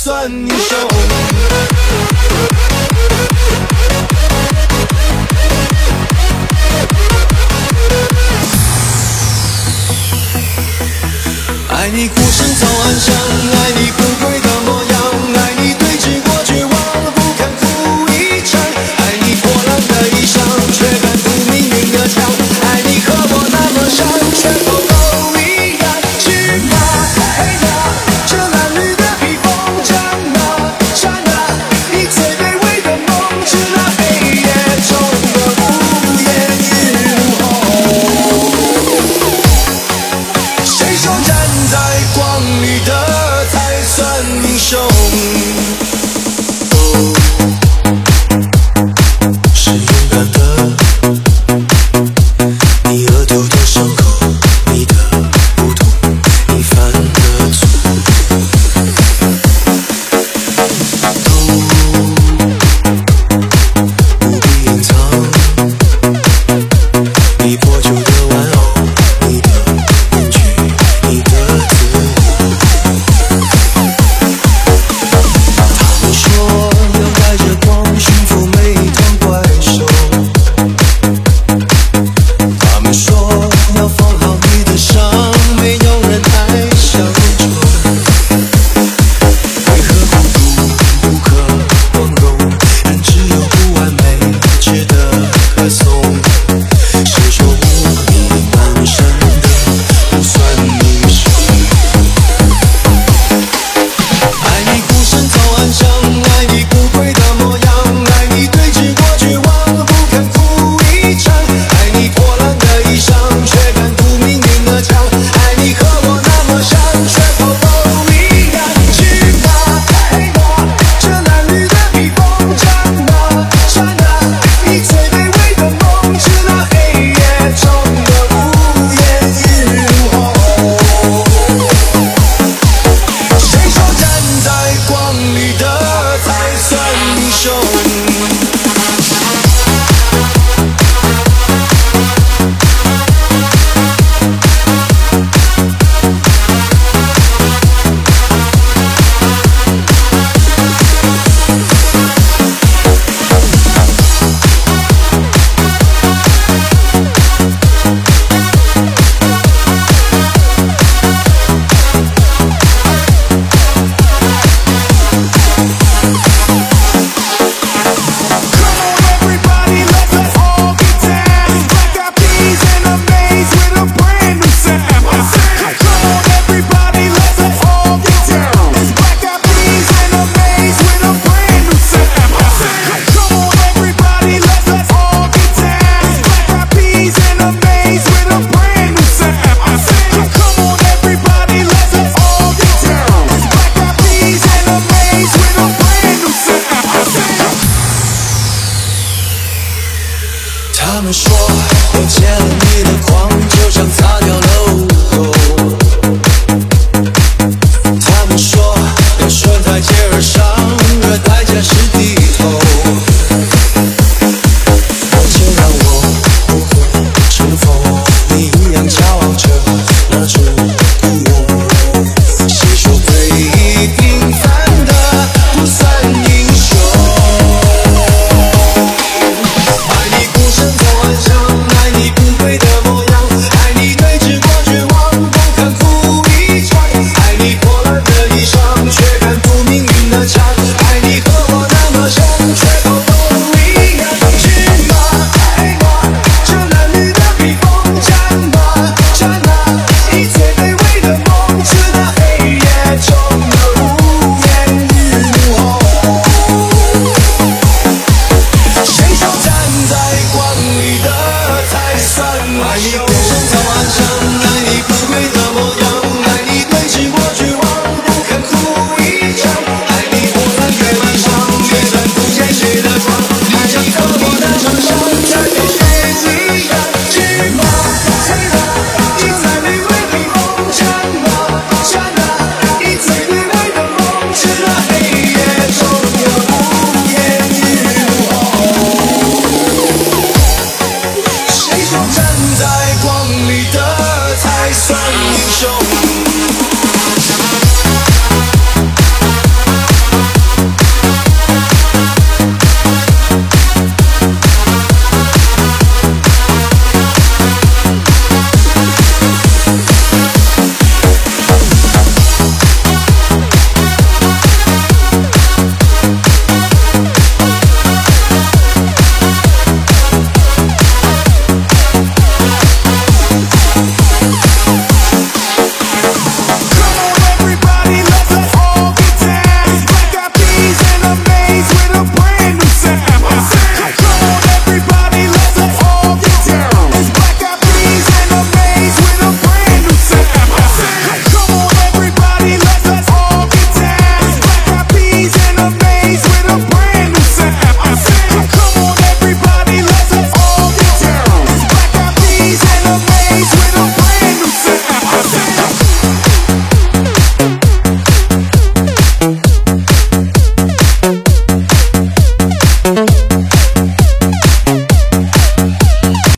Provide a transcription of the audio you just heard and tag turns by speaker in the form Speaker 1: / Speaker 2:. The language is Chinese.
Speaker 1: 算英雄。爱你孤身走暗巷，爱你孤贵的模样，爱你对峙过绝望，不肯哭一场，爱你破烂的衣裳，却敢堵命运的枪，爱你和我那么像，却否都一样。去吧，嘿呀，这褴褛的披风，战啊战啊，你最卑微的梦，是那黑夜中的无言与怒吼。谁说站在光里的才算英雄？是勇敢的，你额头的伤口，你的不同，你犯的错，都不必隐藏。你破旧的玩偶，你的面具，你的自我。他们说要带着光驯服每团怪兽，他们说要放好你的伤，没有人爱小丑。为何孤独不可光荣？人只有不完美值得歌颂。谁说无力满身的不算英雄？爱你孤身走暗巷，爱你孤贵的模样，爱你对峙过绝望，不肯哭一场，爱你破烂的衣裳，却敢堵命运的枪，爱你和我那么像，却否都一样。去吧，嘿呀，这褴褛的披风，战啊战啊，你最卑微的梦，是那黑夜中的无言与怒吼。谁说站在光里的才算英雄？